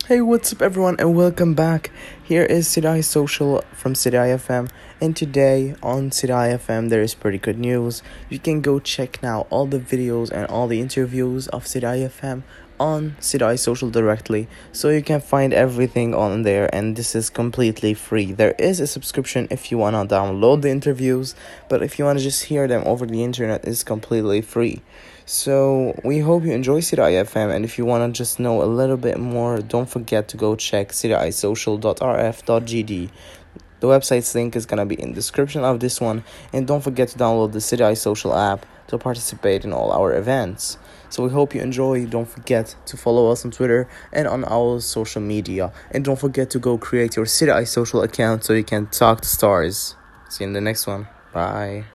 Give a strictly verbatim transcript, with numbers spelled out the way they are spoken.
Hey, what's up, everyone, and welcome back. Here is Sidai Social from Sidai F M, and today on Sidai F M there is pretty good news. You can go check now all the videos and all the interviews of Sidai F M on Sidai Social directly, so you can find everything on there, and this is completely free. There is a subscription if you want to download the interviews, but if you want to just hear them over the internet, it's completely free. So we hope you enjoy Sidai F M, and if you want to just know a little bit more, don't forget to go check sidai social dot r f dot g d. The website's link is going to be in the description of this one, and don't forget to download the Sidai Social app to participate in all our events. So we hope you enjoy. Don't forget to follow us on Twitter and on our social media, and don't forget to go create your Sidai Social account so you can talk to stars. See you in the next one. Bye.